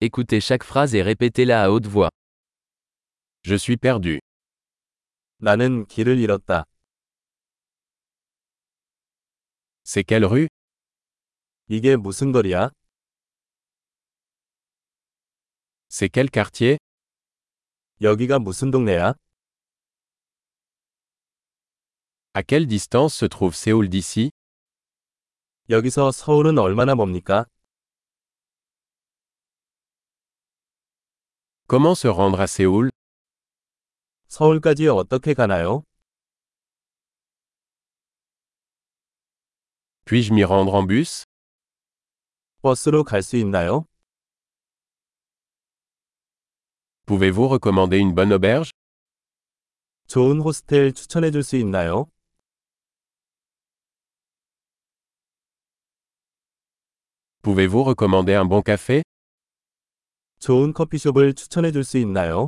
Écoutez chaque phrase et répétez-la à haute voix. Je suis perdu. 나는 길을 잃었다. C'est quelle rue? 이게 무슨 거리야? C'est quel quartier? 여기가 무슨 동네야? À quelle distance se trouve Séoul d'ici? 여기서 서울은 얼마나 멉니까? Comment se rendre à Séoul? 서울까지 어떻게 가나요? Puis-je m'y rendre en bus? 버스로 갈 수 있나요? Pouvez-vous recommander une bonne auberge? 좋은 호스텔 추천해 줄 수 있나요? Pouvez-vous recommander un bon café? 좋은 커피숍을 추천해 줄 수 있나요?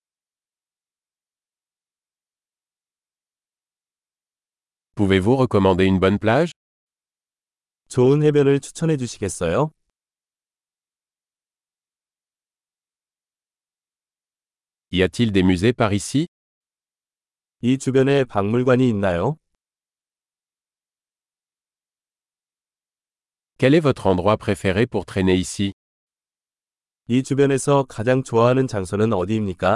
Pouvez-vous recommander une bonne plage? 좋은 해변을 추천해 주시겠어요? Y a-t-il des musées par ici? 이 주변에 박물관이 있나요? Quel est votre endroit préféré pour traîner ici? 이 주변에서 가장 좋아하는 장소는 어디입니까?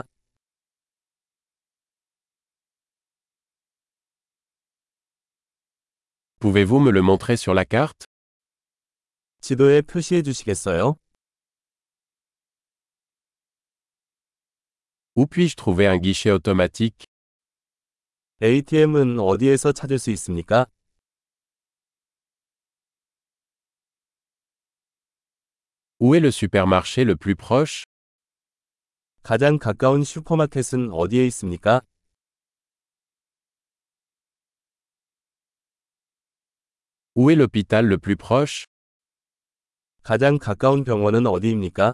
Pouvez-vous me le montrer sur la carte? 지도에 표시해 주시겠어요? Où puis-je trouver un guichet automatique? ATM은 어디에서 찾을 수 있습니까? Où est le supermarché le plus proche? 가장 가까운 슈퍼마켓은 어디에 있습니까? Où est l'hôpital le plus proche? 가장 가까운 병원은 어디입니까?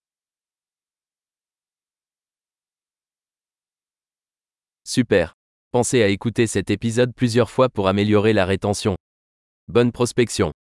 Super. Pensez à écouter cet épisode plusieurs fois pour améliorer la rétention. Bonne prospection.